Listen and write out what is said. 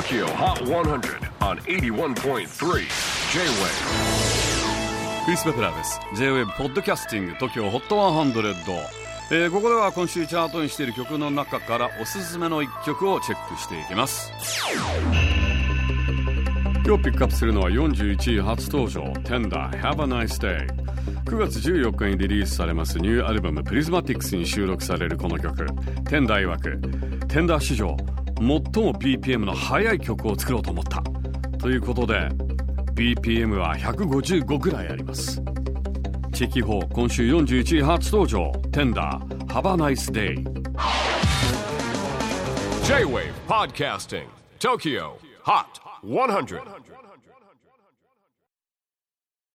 TOKYO HOT 100 on 81.3 J-WAVE クリス・ベプラーです。 J-WAVE ポッドキャスティング TOKYO HOT 100、ここでは今週チャートにしている曲の中からおすすめの一曲をチェックしていきます。今日ピックアップするのは41位初登場 Tender Have a Nice Day。 9月14日にリリースされますニューアルバム Prismatics に収録されるこの曲。 Tender 曰く Tender 史上最も BPM の速い曲を作ろうと思ったということで BPM は155ぐらいあります。チェキ4今週41位初登場 Tender Have a Nice Day。 J-WAVE PODCASTING TOKYO HOT 100